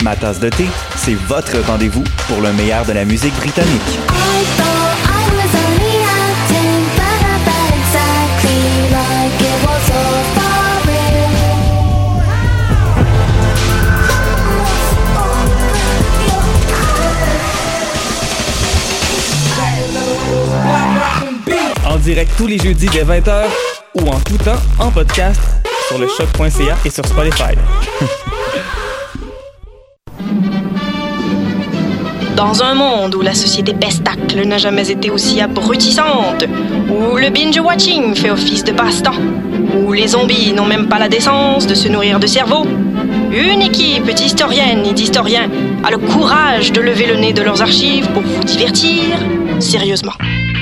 Ma tasse de thé, c'est votre rendez-vous pour le meilleur de la musique britannique. En direct tous les jeudis dès 20h ou en tout temps en podcast sur le choc.ca et sur Spotify. Dans un monde où la société pestacle n'a jamais été aussi abrutissante, où le binge-watching fait office de passe-temps, où les zombies n'ont même pas la décence de se nourrir de cerveau, une équipe d'historiennes et d'historiens a le courage de lever le nez de leurs archives pour vous divertir sérieusement.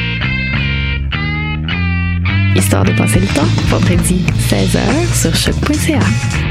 Histoire de passer le temps, vendredi 16h sur choc.ca.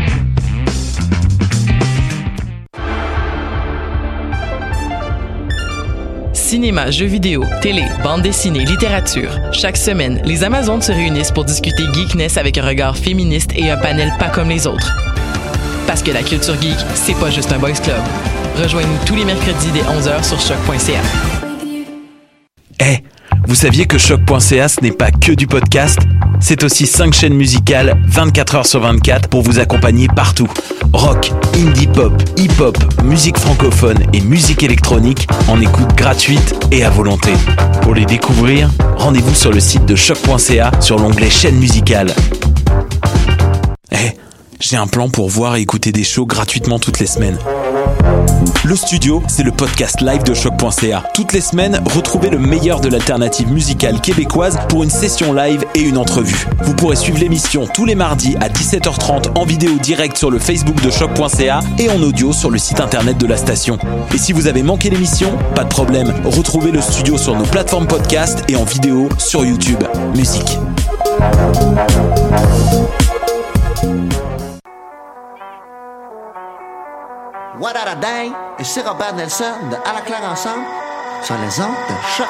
Cinéma, jeux vidéo, télé, bande dessinée, littérature. Chaque semaine, les Amazones se réunissent pour discuter geekness avec un regard féministe et un panel pas comme les autres. Parce que la culture geek, c'est pas juste un boys club. Rejoignez-nous tous les mercredis dès 11h sur choc.ca. Hey, vous saviez que choc.ca ce n'est pas que du podcast? C'est aussi 5 chaînes musicales 24h sur 24 pour vous accompagner partout. Rock, indie pop, hip-hop, musique francophone et musique électronique en écoute gratuite et à volonté. Pour les découvrir, rendez-vous sur le site de choc.ca sur l'onglet chaîne musicale. J'ai un plan pour voir et écouter des shows gratuitement toutes les semaines. Le Studio, c'est le podcast live de choc.ca. Toutes les semaines, retrouvez le meilleur de l'alternative musicale québécoise pour une session live et une entrevue. Vous pourrez suivre l'émission tous les mardis à 17h30 en vidéo directe sur le Facebook de choc.ca et en audio sur le site internet de la station. Et si vous avez manqué l'émission, pas de problème, retrouvez le Studio sur nos plateformes podcast et en vidéo sur YouTube. Musique. What a dang, ici Robert Nelson de À la claire ensemble sur les ondes de choc.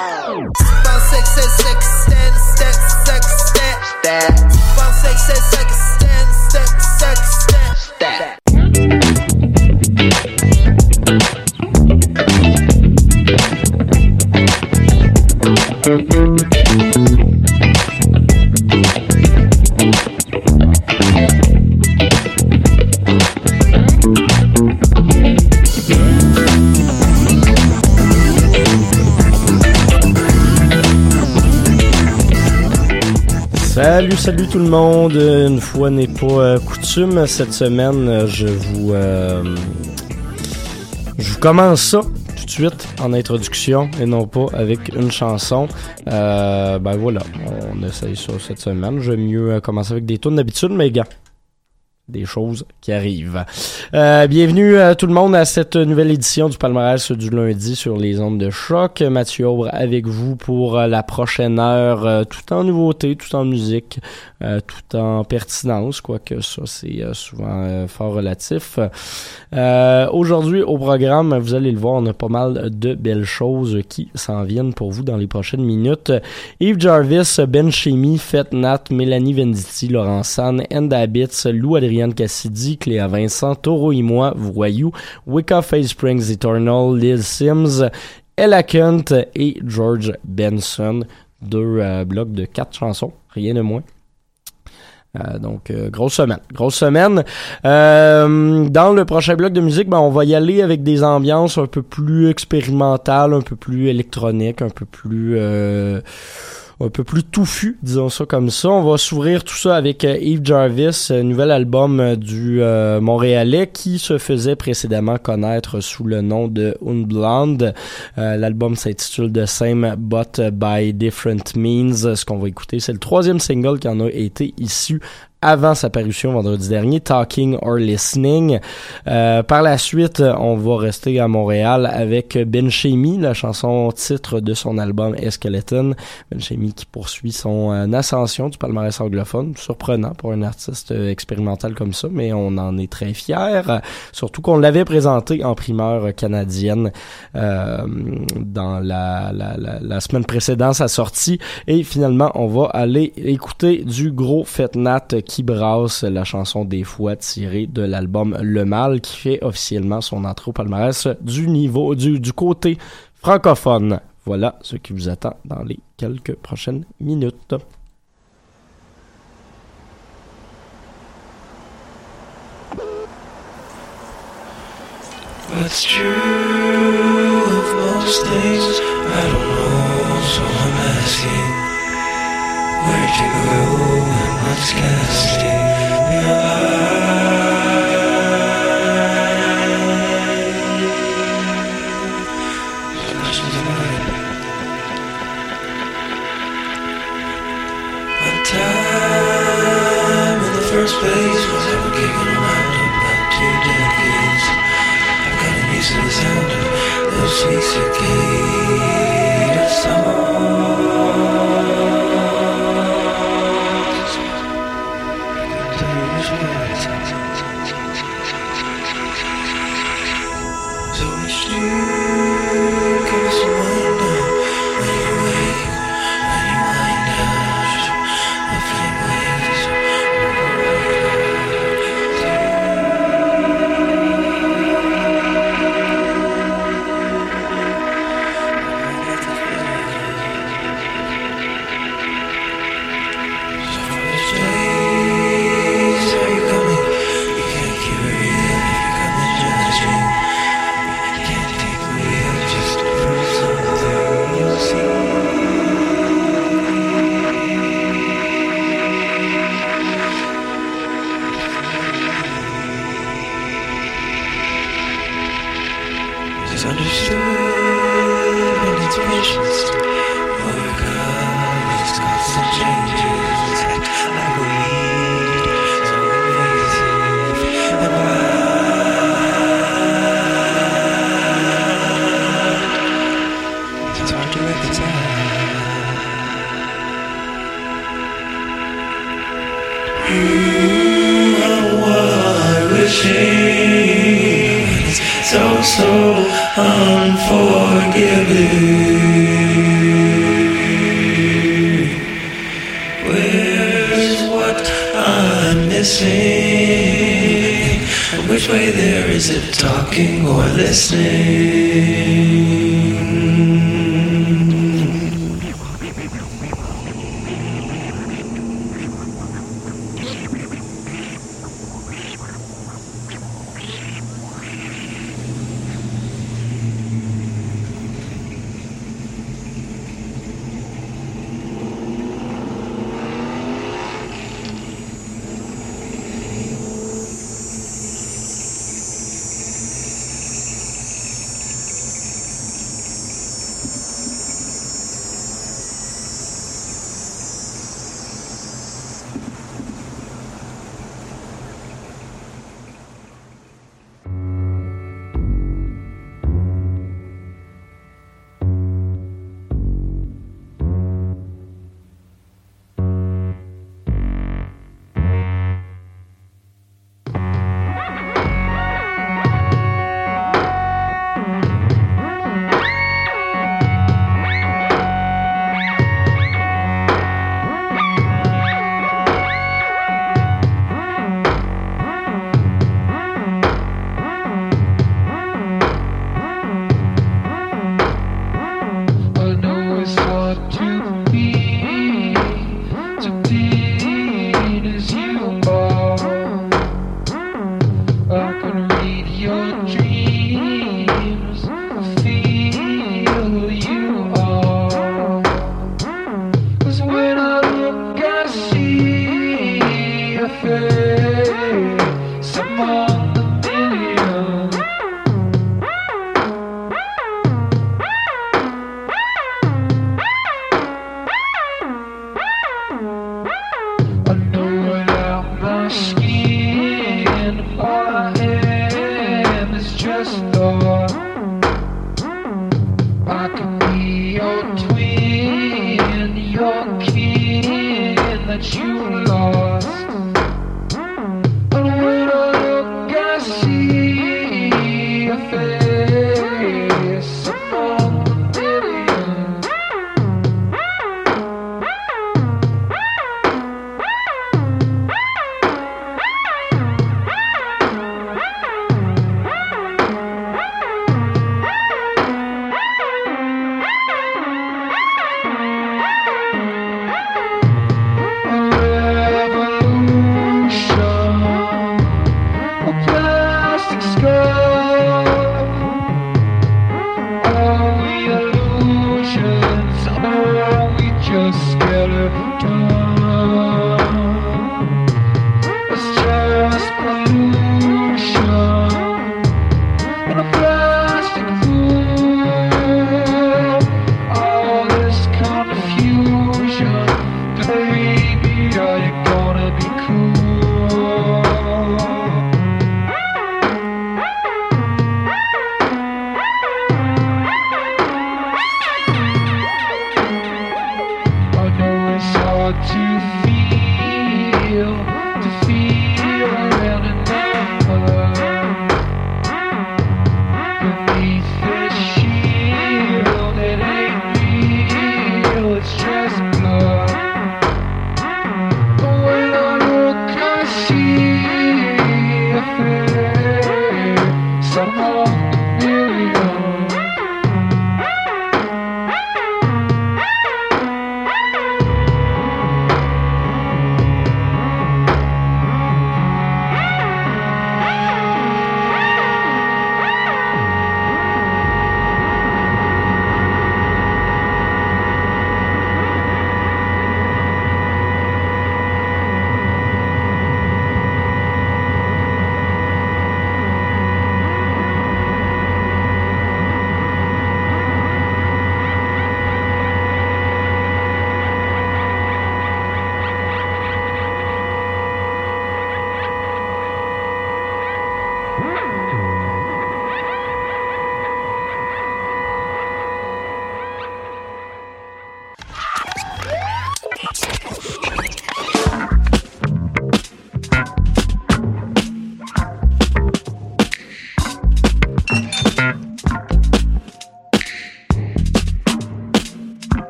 Salut tout le monde. Une fois n'est pas coutume, cette semaine, je vous commence ça tout de suite en introduction et non pas avec une chanson. Voilà, on essaye ça cette semaine. J'aime mieux commencer avec des tunes d'habitude, mais gars, des choses qui arrivent. Bienvenue tout le monde à cette nouvelle édition du palmarès du lundi sur les ondes de choc. Mathieu Aubre avec vous pour la prochaine heure, tout en nouveauté, tout en musique, tout en pertinence, quoique ça c'est souvent fort relatif. Aujourd'hui au programme, vous allez le voir, on a pas mal de belles choses qui s'en viennent pour vous dans les prochaines minutes. Yves Jarvis, Ben Chemi, Fête Nat, Mélanie Venditti, Laurent San, End Habits, Lou Adrien Cassidy, Cléa Vincent, Taureau et moi, Voyou, Wicca Face Springs Eternal, Lil Sims, Ella Kent et George Benson. 2 blocs de 4 chansons, rien de moins. Donc grosse semaine. Dans le prochain bloc de musique, on va y aller avec des ambiances un peu plus expérimentales, un peu plus électroniques, un peu plus touffu, disons ça comme ça. On va s'ouvrir tout ça avec Yves Jarvis, nouvel album du Montréalais qui se faisait précédemment connaître sous le nom de Unblonde. L'album s'intitule The Same But By Different Means. Ce qu'on va écouter, c'est le 3e single qui en a été issu avant sa parution vendredi dernier, Talking or Listening. Par la suite, on va rester à Montréal avec Ben Chemi, la chanson titre de son album Skeleton. Ben Chemi qui poursuit son ascension du palmarès anglophone. Surprenant pour un artiste expérimental comme ça, mais on en est très fiers. Surtout qu'on l'avait présenté en primeur canadienne dans la semaine précédente sa sortie. Et finalement, on va aller écouter du gros Fête Nat qui brasse, la chanson des fois tirée de l'album Le Mal, qui fait officiellement son entrée au palmarès du côté francophone. Voilà ce qui vous attend dans les quelques prochaines minutes. What's true of most things, I don't know, so I'm asking, where'd you go and what's casting your eye? So questions of mine. What time in the first place was ever kicking around about 2 decades? To the sound of those sweet cicada songs. So it's you, give us a wind up when you wake, when you wind down, the flame waves. So unforgiving. Where's what I'm missing? And which way there is it, talking or listening?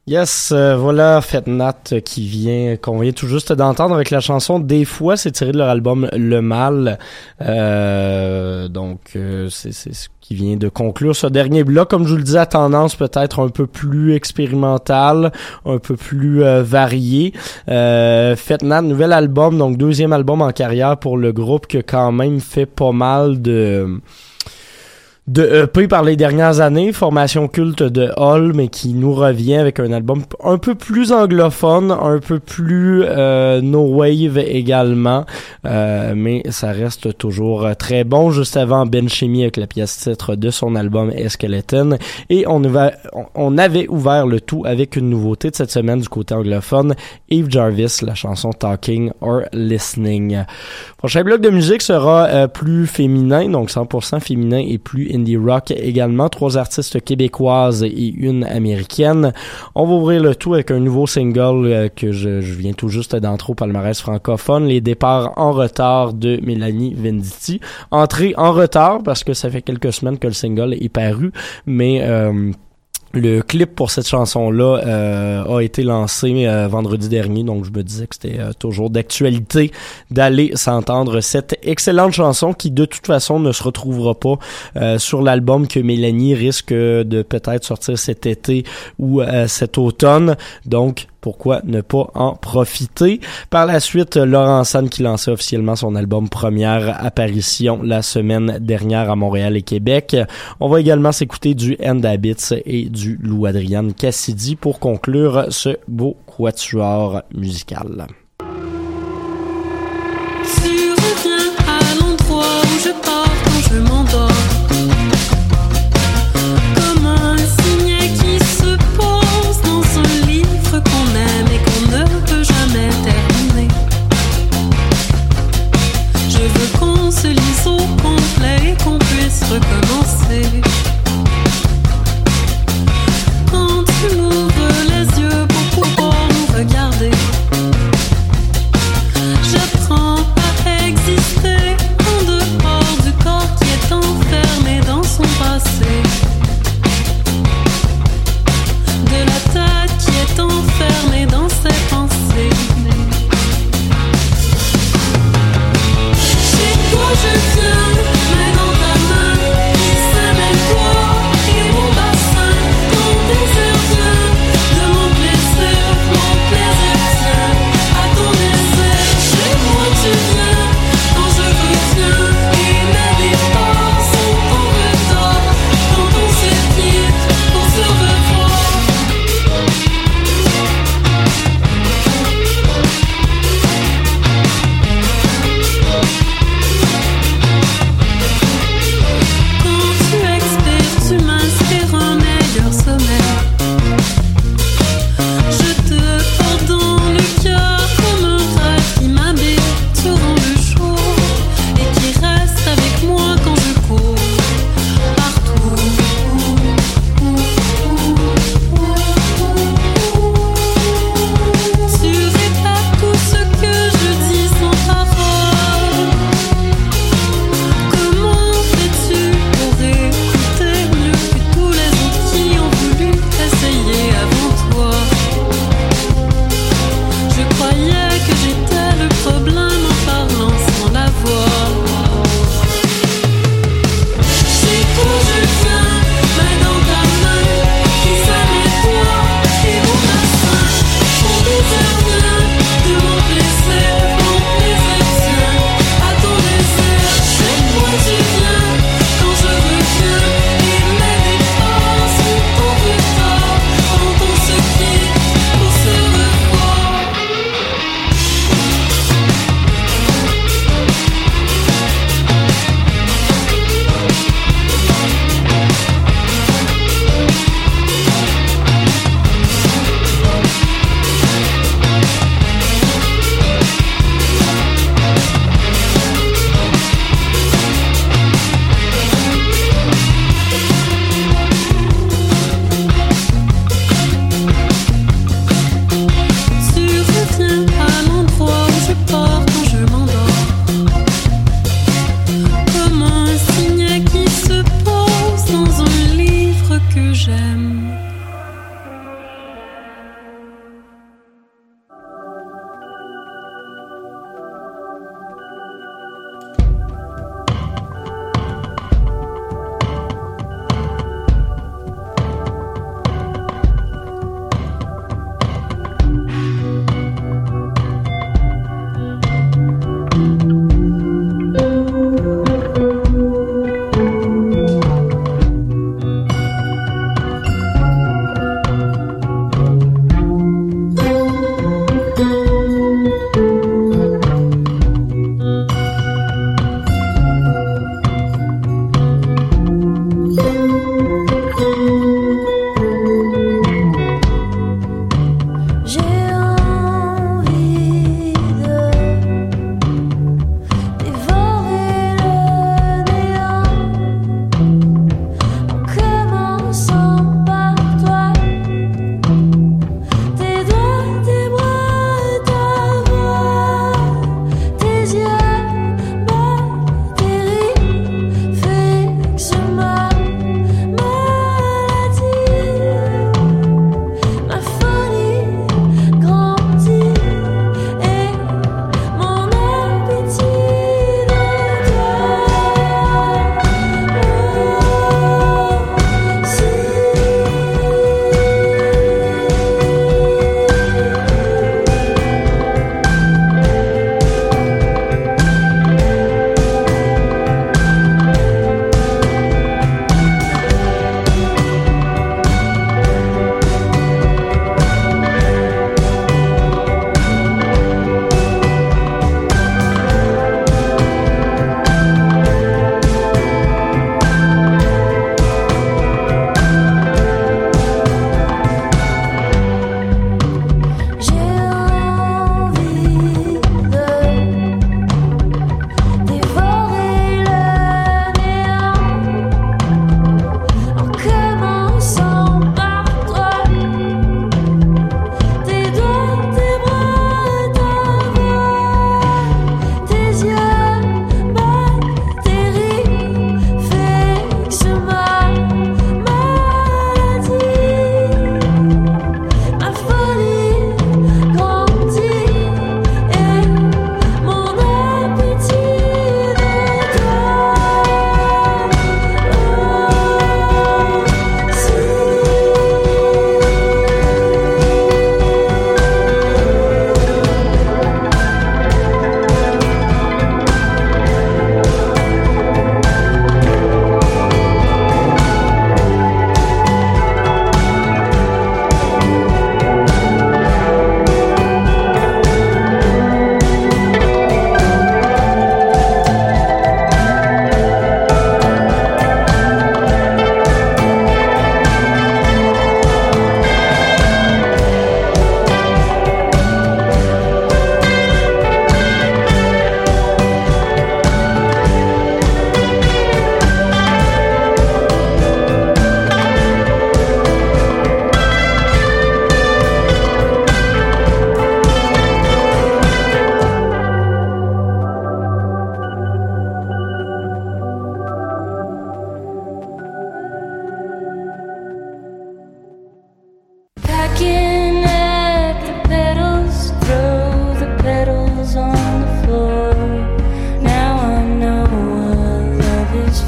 Yes, voilà Fetnat qu'on vient tout juste d'entendre avec la chanson Des fois, c'est tiré de leur album Le Mal. C'est ce qui vient de conclure ce dernier bloc, comme je vous le disais, à tendance peut-être un peu plus expérimentale, un peu plus variée. Fetnat, nouvel album, donc 2e album en carrière pour le groupe qui a quand même fait pas mal de EP par les dernières années, formation culte de Hall, mais qui nous revient avec un album un peu plus anglophone, un peu plus no wave également, mais ça reste toujours très bon. Juste avant, Ben Chimie avec la pièce titre de son album Skeleton, et on avait ouvert le tout avec une nouveauté de cette semaine du côté anglophone, Eve Jarvis, la chanson Talking or Listening. Prochain bloc de musique sera plus féminin, donc 100% féminin et plus indie rock également. 3 artistes québécoises et une américaine. On va ouvrir le tout avec un nouveau single que je viens tout juste d'entrer au palmarès francophone, Les départs en retard de Mélanie Venditti. Entrée en retard parce que ça fait quelques semaines que le single est paru, mais le clip pour cette chanson-là a été lancé vendredi dernier, donc je me disais que c'était toujours d'actualité d'aller s'entendre cette excellente chanson qui de toute façon ne se retrouvera pas sur l'album que Mélanie risque de peut-être sortir cet été ou cet automne. Donc pourquoi ne pas en profiter? Par la suite, Laurent San qui lançait officiellement son album Première Apparition la semaine dernière à Montréal et Québec. On va également s'écouter du End Habits et du Lou Adrian Cassidy pour conclure ce beau quatuor musical. Tu reviens à l'endroit où je pars quand je m'endors. Comme un signet qui se pose dans un livre qu'on aime et qu'on ne peut jamais terminer. Je veux qu'on se lise au complet et qu'on puisse recommencer. Quand tu m'ouvres les yeux pour pouvoir nous regarder, j'apprends à exister en dehors du corps qui est enfermé dans son passé, de la tête qui est enfermée dans ses pensées. Chez toi je viens.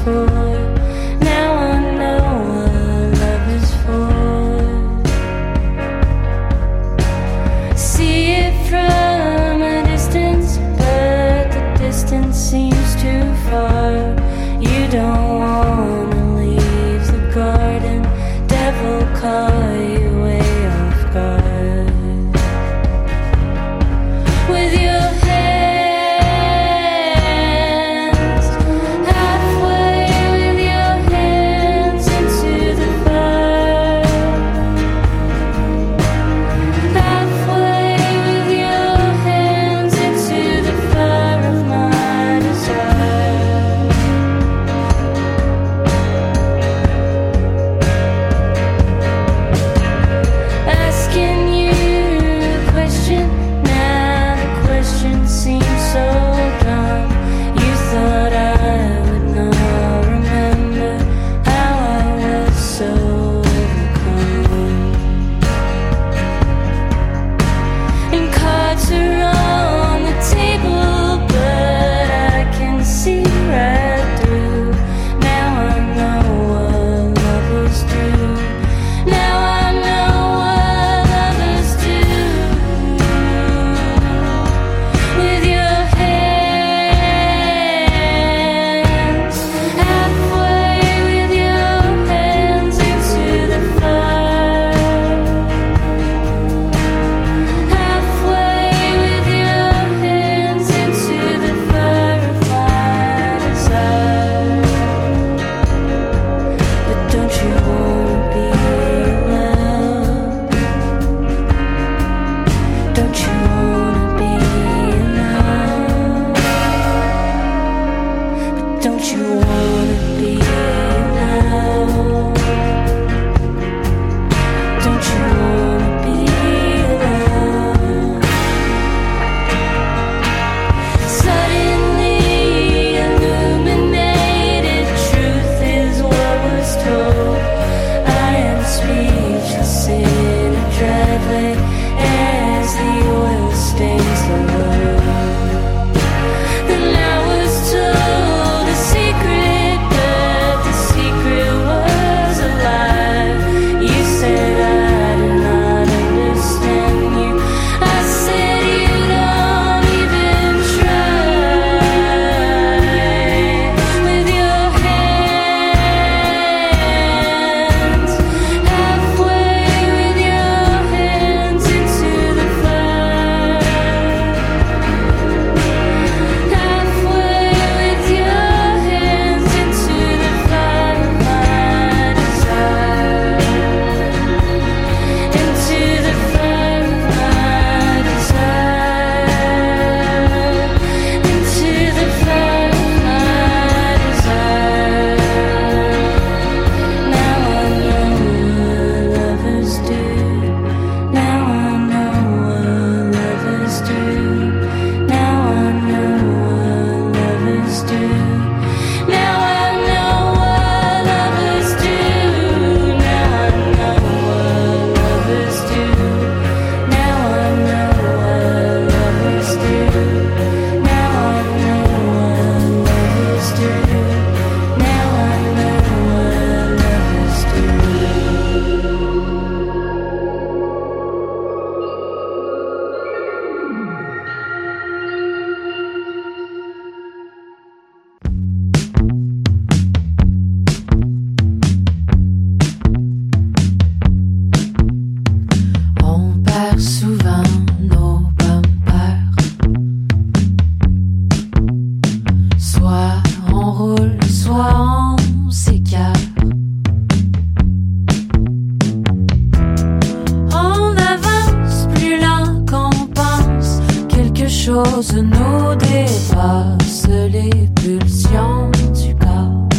chose nous dépasse les pulsions du corps.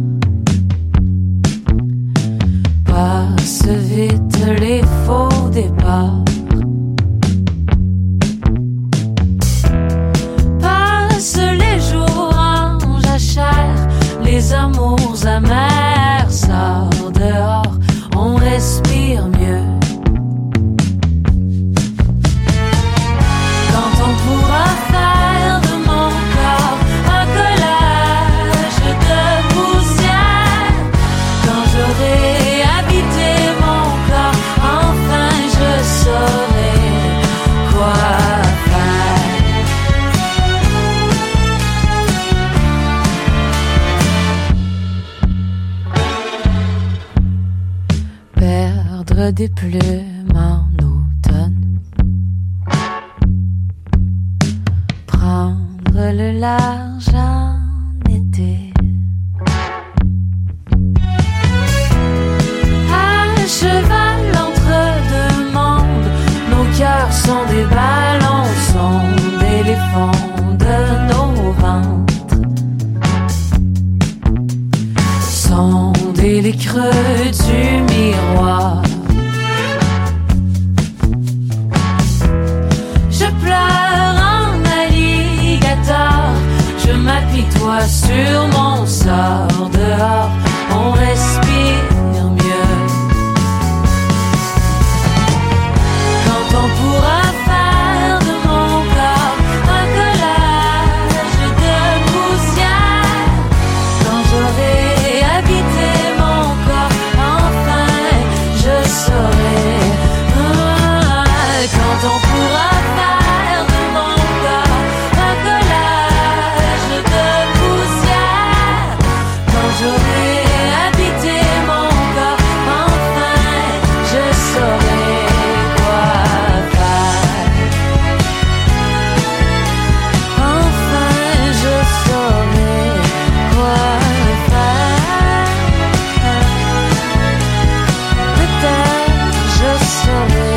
Passe vite les faux départs. Passe les jours en jachère, les amours amers. Sort dehors, on respire mieux. Pourra faire de mon corps un collage de vous Prendre des plumes en automne, prendre le large en été, à cheval entre deux mondes, nos cœurs sont des ballons, sont d'éléphants de nos ventres, sonder les creux du miroir. Je pleure en alligator, je m'apitoie sur mon sort. Dehors, on respire mieux. Quand on pourra faire de mon corps un collage de poussière, quand j'aurai habité mon corps, enfin je saurai. Quand on pourra faire de mon corps un collage de poussière, quand j'aurai habité mon corps, enfin je saurai quoi faire. Enfin je saurai quoi faire. Peut-être je saurai.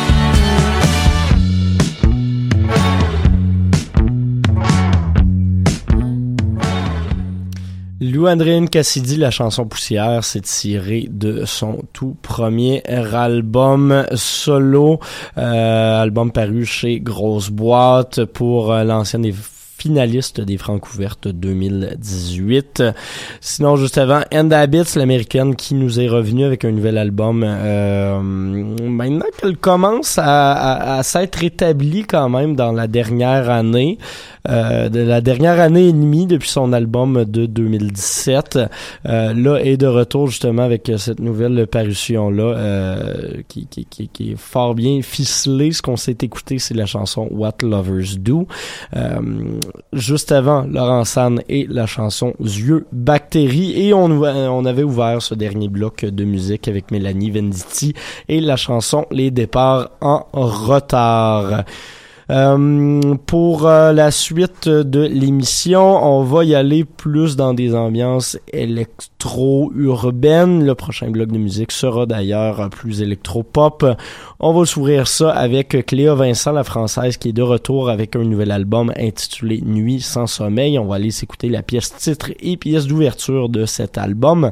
Lou Andréane Cassidy, la chanson Poussière, c'est tiré de son tout premier album solo, album paru chez Grosse Boîte pour l'ancienne des finaliste des Francouvertes 2018. Sinon, juste avant, End Habits, l'américaine qui nous est revenue avec un nouvel album. Maintenant qu'elle commence à s'être établie quand même dans la dernière année, de la dernière année et demie depuis son album de 2017, là est de retour justement avec cette nouvelle parution-là qui est fort bien ficelée. Ce qu'on s'est écouté, c'est la chanson What Lovers Do. Juste avant, Laurent San et la chanson Yeux Bactéries, et on avait ouvert ce dernier bloc de musique avec Mélanie Venditti et la chanson Les Départs en retard. Pour la suite de l'émission, on va y aller plus dans des ambiances électro-urbaines. Le prochain bloc de musique sera d'ailleurs plus électro-pop. On va s'ouvrir ça avec Cléa Vincent, la française, qui est de retour avec un nouvel album intitulé Nuit sans sommeil. On va aller s'écouter la pièce titre et pièce d'ouverture de cet album.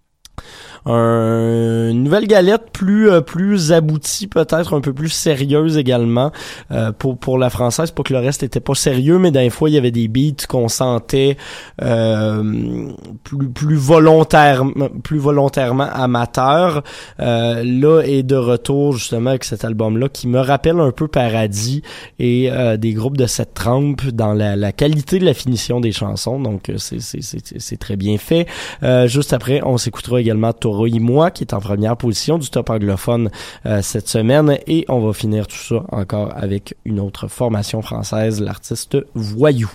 Une nouvelle galette plus aboutie, peut-être un peu plus sérieuse également pour la française, pas que le reste était pas sérieux, mais des fois il y avait des beats qu'on sentait plus volontairement amateurs. Là est de retour justement avec cet album-là qui me rappelle un peu Paradis et des groupes de cette trempe dans la qualité de la finition des chansons, donc c'est très bien fait. Juste après, on s'écoutera également Toro et moi, qui est en première position du top anglophone cette semaine, et on va finir tout ça encore avec une autre formation française, l'artiste Voyou.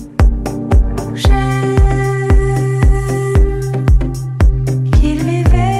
Qu'il m'éveille.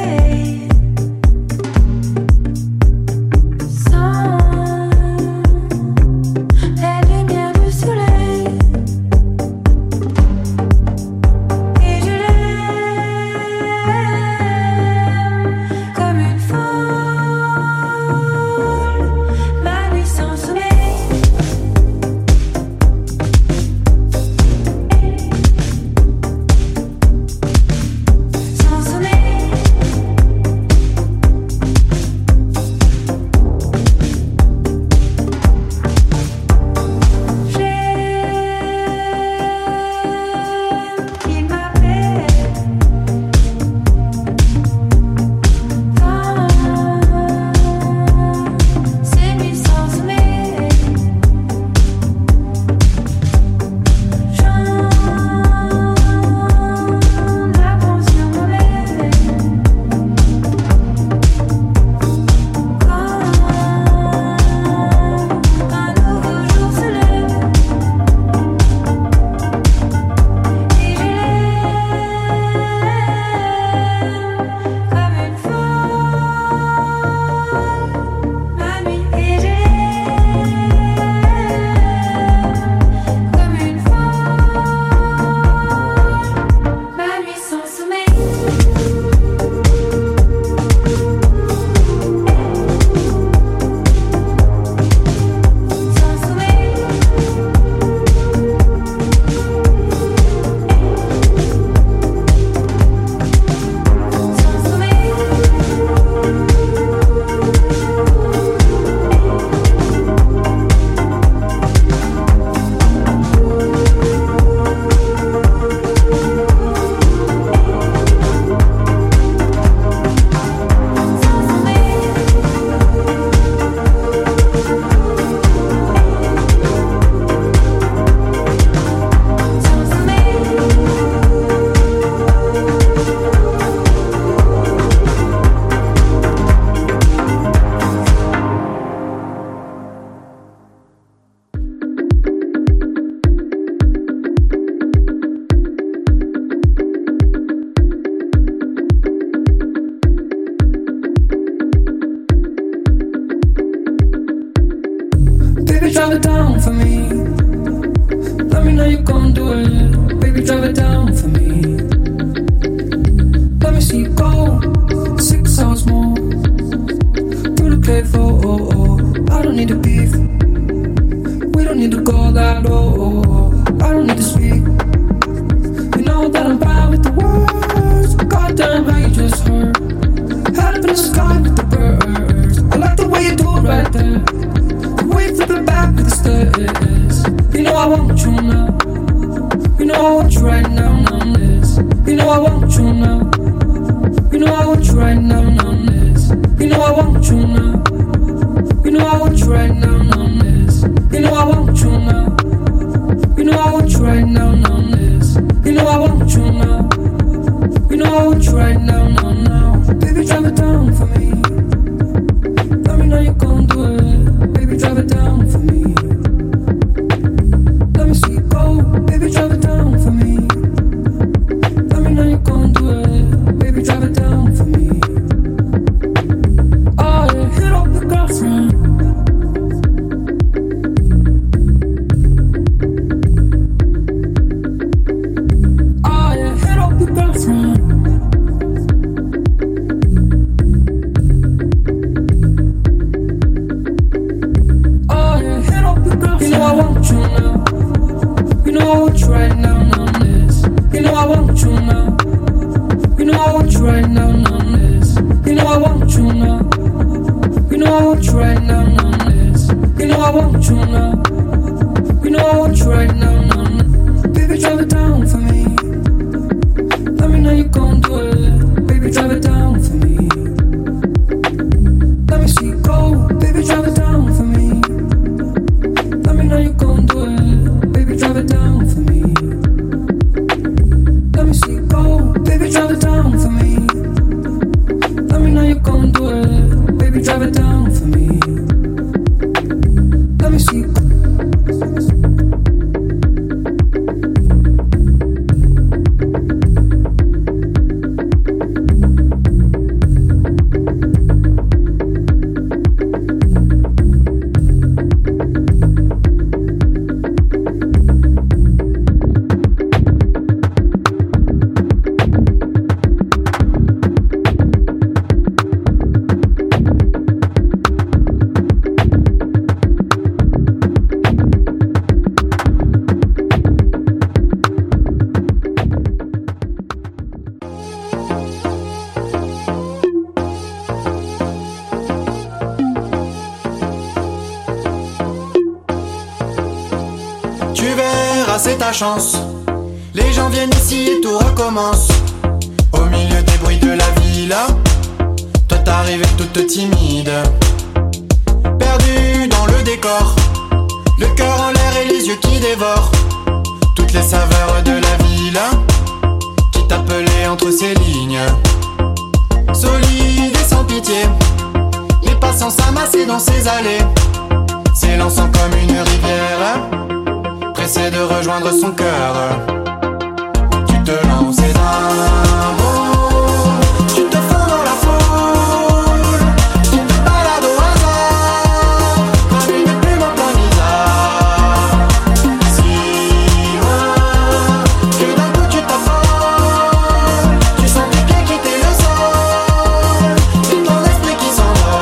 Baby, drive it down for me. Let me know you gon' do it. Baby, drive it down for me. Let me see you go 6 hours more through the playful. I don't need to beef. We don't need to go that low. I don't need to speak. You know that I'm bad with the words. Goddamn, how you just hurt. Head up in the sky with the birds. I like the way you do it right there. The way you flip it back with the stairs. You know I want you now. You know I want you right now, now this. You know I want you now. You know I want you right now, now this. You know I want you now. You know I want you right now, now this. You know I want you now. You know I want you right now, now this. You know I want you now. You know I want you right now, now, now. Baby, drive it down for me. Let me know you gon' do it. Baby, drive it down for me. Let me see you go. Baby, drive it down for me. Let me know you gon' do it. Baby, drive it down for me. Oh yeah, hit up your girlfriend. Oh yeah, hit up your girlfriend. Oh yeah, hit up your girlfriend. You know I want you now. You know I want you right now, now this. You know I want you now. You know I want you right now, now this. You know I want you now. You know I want you right now, now this. You know I want you now. You know I want you right now, now. Baby, drive it down for me. Let me know you gon' do it. Baby, drive it down for me. Let me see you go. Baby, drive it down for me. Let me know you gon' do it. Baby, drive it down for me. Let me see you go. Baby, drive it down for me. Let me know you gon' do it. Baby, drive it down for me. Let me see you go. Tu verras, c'est ta chance. Les gens viennent ici et tout recommence. Au milieu des bruits de la villa, toi t'arrives toute timide, perdue dans le décor, le cœur en l'air et les yeux qui dévorent toutes les saveurs de la villa qui t'appelait entre ces lignes. Solide et sans pitié, les passants s'amassaient dans ses allées, s'élançant comme une rivière, pressé de rejoindre son cœur. Tu te lances d'un bond, tu te fonds dans la foule, tu te balades au hasard, comme une plume en plein bizarre. Si loin, que d'un coup tu t'affoles, tu sens tes pieds quitter le sol, c'est ton esprit qui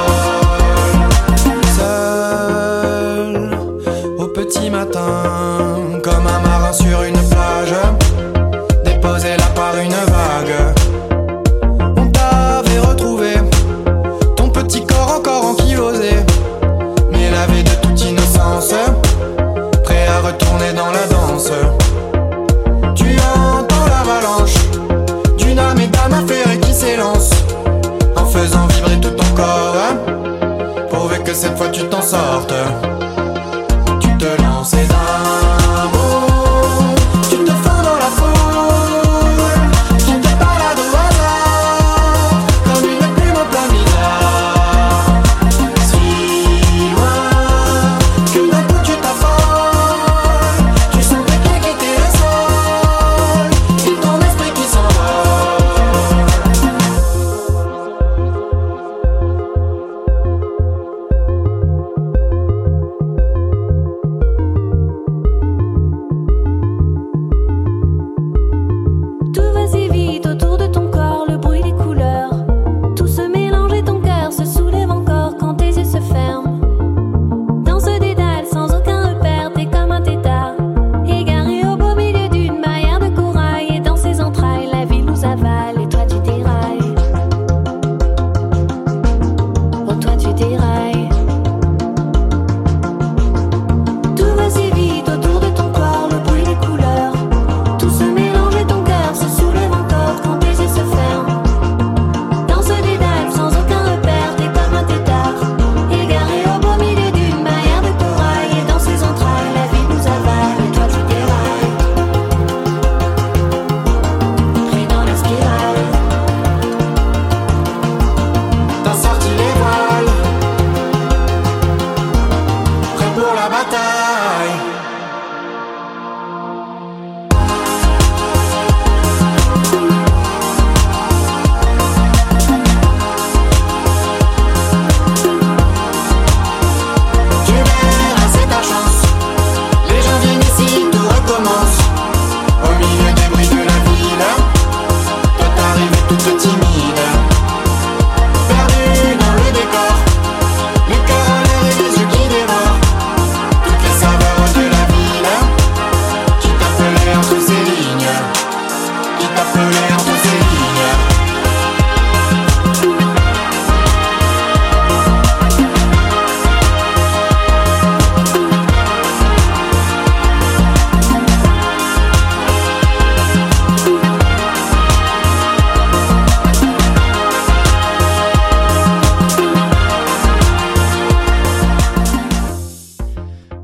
s'envole. Seul, au petit matin, comme un marin sur une plage, déposé là par une vague. On t'avait retrouvé, ton petit corps encore ankylosé, mais lavé de toute innocence, prêt à retourner dans la danse. Tu entends l'avalanche d'une âme et d'âme affairée qui s'élance, en faisant vibrer tout ton corps, pourvu que cette fois tu t'en sortes. Tu te lances d'un bond, tu te fonds dans la foule, tu te balades au hasard, comme une plume en plein bizarre. Si loin, que d'un coup tu t'affoles, tu sens tes pieds quitter le sol, et ton esprit qui s'envole.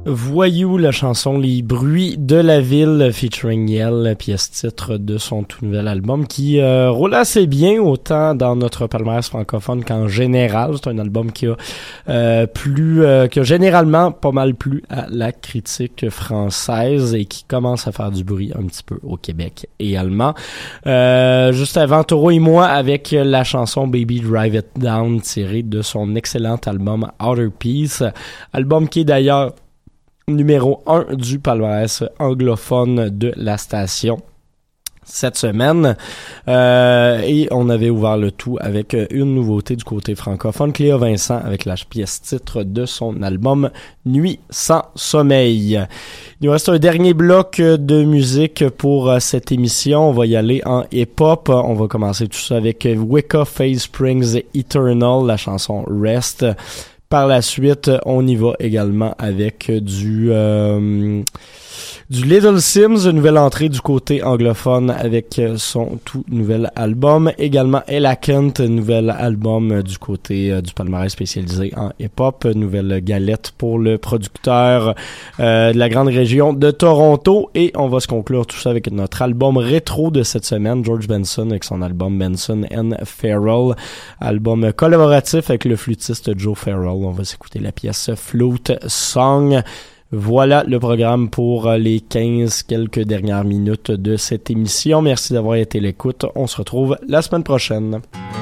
Voyou, la chanson Les bruits de la ville featuring Yel, pièce titre de son tout nouvel album qui roule assez bien autant dans notre palmarès francophone qu'en général. C'est un album qui a qui a généralement pas mal plu à la critique française et qui commence à faire du bruit un petit peu au Québec également. Juste avant, Taureau et moi avec la chanson Baby Drive It Down tirée de son excellent album Outer Peace, album qui est d'ailleurs numéro 1 du palmarès anglophone de la station cette semaine. Et on avait ouvert le tout avec une nouveauté du côté francophone, Cléa Vincent avec la pièce titre de son album Nuit sans sommeil. Il nous reste un dernier bloc de musique pour cette émission. On va y aller en hip-hop. On va commencer tout ça avec Wicca Phase Springs Eternal, la chanson Rest. Par la suite, on y va également avec du Little Sims, une nouvelle entrée du côté anglophone avec son tout nouvel album. Également Ella Kent, nouvel album du côté du palmarès spécialisé en hip-hop. Nouvelle galette pour le producteur de la grande région de Toronto. Et on va se conclure tout ça avec notre album rétro de cette semaine, George Benson avec son album Benson and Farrell. Album collaboratif avec le flûtiste Joe Farrell. On va s'écouter la pièce Flute Song. Voilà le programme pour les 15 quelques dernières minutes de cette émission. Merci d'avoir été à l'écoute. On se retrouve la semaine prochaine.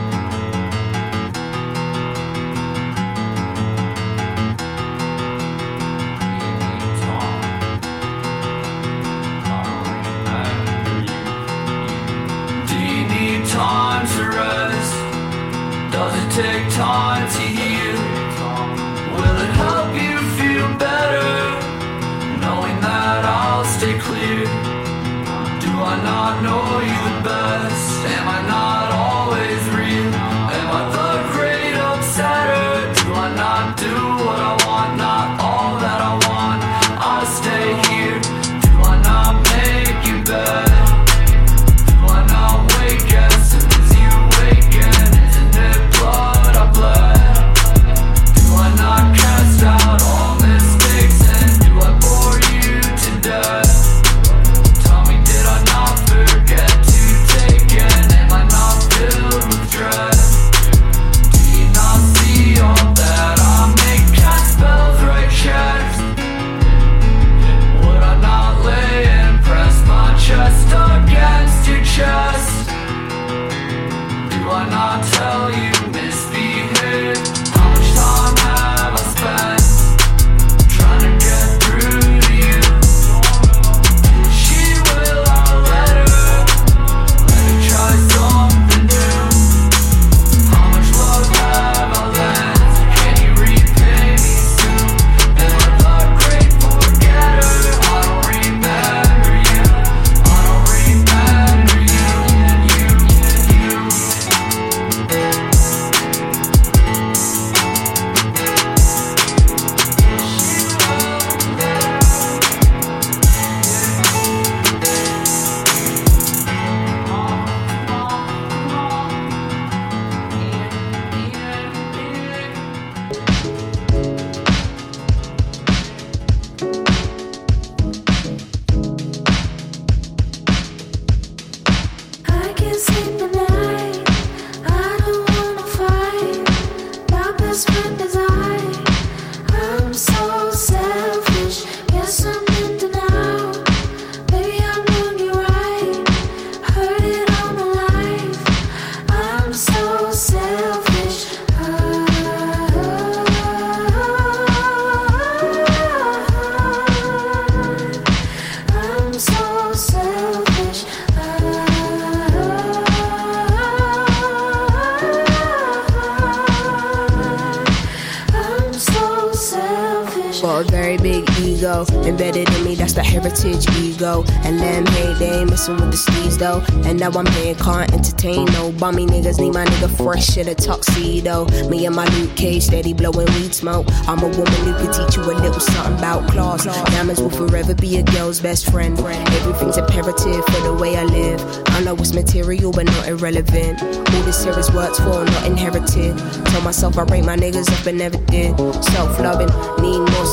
Embedded in me, that's the heritage ego. And them hate, they ain't messing with the steez though. And now I'm here, can't entertain no bummy niggas. Need my nigga fresh in a tuxedo. Me and my Luke Cage, steady blowing weed smoke. I'm a woman who can teach you a little something about class. Diamonds will forever be a girl's best friend. Everything's imperative for the way I live. I know it's material but not irrelevant. All this here is worked for, not inherited. Told myself I rate my niggas up and never did. Self-loving, need more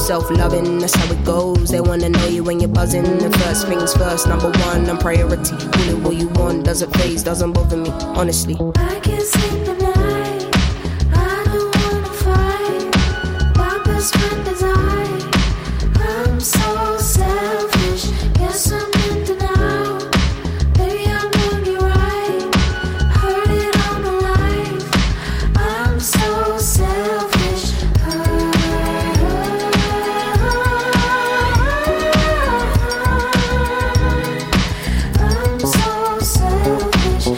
self-loving, that's how it goes. They wanna know you when you're buzzing. The first things first, number one, I'm priority. Call it what you want, doesn't phase, doesn't bother me, honestly. I can't sleep at night, I don't wanna fight. My best friend is I'm so selfish, guess I'm in denial. Maybe I'm doing you right, heard it all my life. I'm so selfish. I'm so selfish.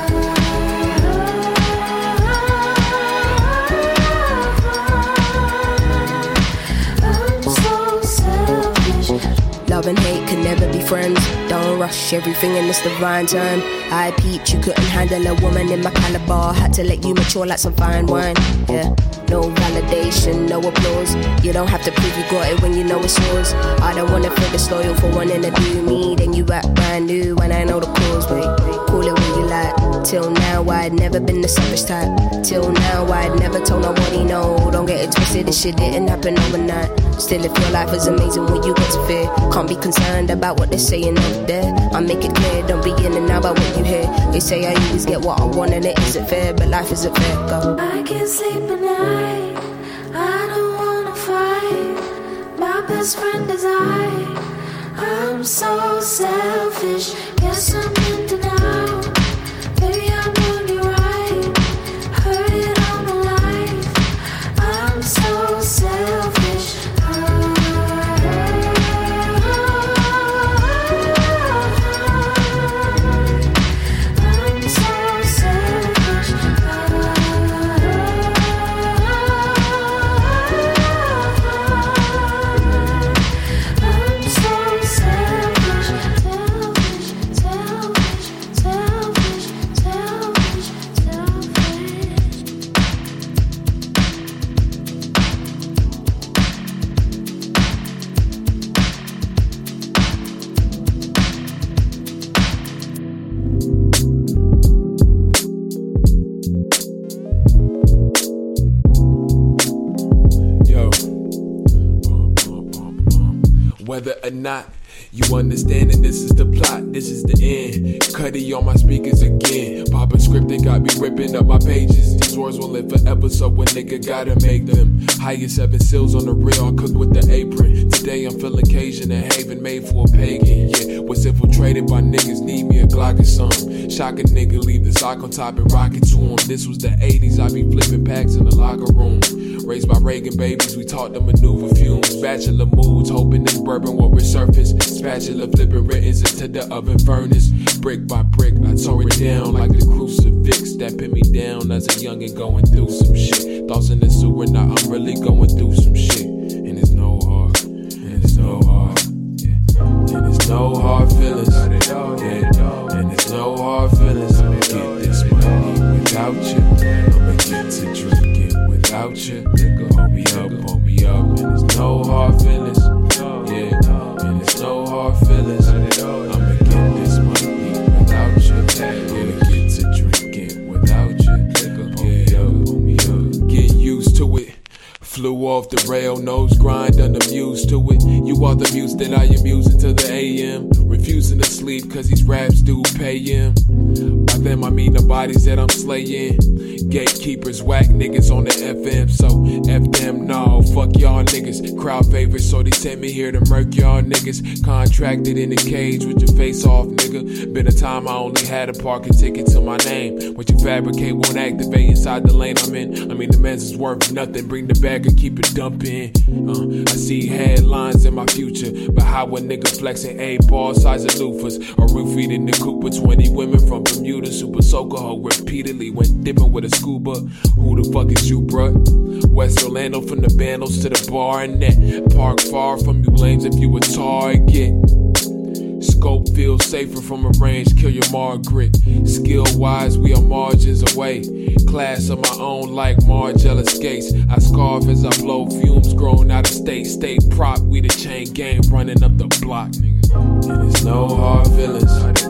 Love and hate can never be friends. Don't rush everything in this divine time. I peeped, you couldn't handle a woman in my caliber. Had to let you mature like some fine wine. Yeah, no validation, no applause. You don't have to prove you got it when you know it's yours. I don't wanna feel disloyal for wanting to do me. Then you act brand new when I know the cause. Wait, call it what you like. Till now I'd never been the selfish type. Till now I'd never told nobody no. Don't get it twisted, this shit didn't happen overnight. Still, if your life is amazing, when you got to fear, can't be concerned about what they're saying out there. I make it clear, don't be in and out about what you hear. They say I always get what I want and it isn't fair, but life isn't fair. Go. I can't sleep at night, I don't wanna fight. My best friend is I'm so selfish, guess I'm in denial. Baby, I'm doing you right, heard it all my life. I'm so selfish. Whether or not you understanding this is the plot, this is the end. Cuddy on my speakers again. Papa script, they got me ripping up my pages. These words will live forever, so a nigga gotta make them. Highest 7 seals on the real, I cook with the apron. Today I'm feeling Cajun and Haven made for a pagan. Yeah, was infiltrated by niggas, need me a Glock or something. Shock a nigga, leave the sock on top and rock it to him. This was the 80s, I be flipping packs in the locker room. Raised by Reagan babies, we taught them maneuver fumes. Bachelor moods, hoping this bourbon will resurface. Spatula flipping writtens into the oven furnace. Brick by brick, I tore it down like the crucifix that pinned me down as a youngin' going through some shit. Thoughts in the sewer, now I'm really going through some shit. And it's no hard, and it's no hard, yeah. And it's no hard feelings, yeah. And it's no hard feelings. I'ma get this money without you. I'ma get to drinking without you. Hold me up, and it's no hard feelings, yeah. And it's no hard feelings. I'ma get this money without you. I'ma get to drinking without you. Hold me up. Get used to it. Flew off the rail, nose grind, unamused to it. You are the muse that I am using to the AM. Refusing to sleep cause these raps do pay him. By them I mean the bodies that I'm slaying. Gatekeepers, whack niggas on the FM. So F them, no, fuck y'all niggas. Crowd favorites, so they sent me here to murk y'all niggas. Contracted in a cage with your face off, nigga. Been a time I only had a parking ticket to my name. What you fabricate won't activate inside the lane I'm in. I mean the man's is worth nothing, bring the bag or keep it dumping. I see headlines in my future, but how a nigga flexing 8-ball size of loofahs. Or roof feeding the Cooper, 20 women from Bermuda. Super soaker hoe repeatedly went dipping with a scuba. Who the fuck is you, bruh? West Orlando from the Bandos to the bar and net. Park far from you lanes if you a target. Scope feels safer from a range, kill your Margaret. Skill wise, we are margins away. Class of my own like Margiela skates. I scarf as I blow fumes, grown out of state. Stay prop, we the chain gang running up the block, nigga. And it's no hard feelings,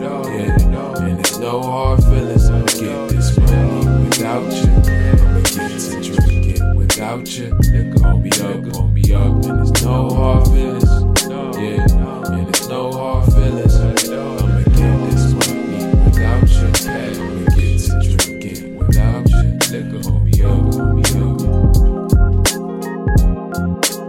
yeah. And it's no hard feelings. I'ma get this money without you. I'ma get to drinking without you. Hold me up, and There's no hard feelings. Yeah, and there's no hard feelings. I'ma get this money without you. I'ma get to drinking without you. Liquor, hold me up, hold me up.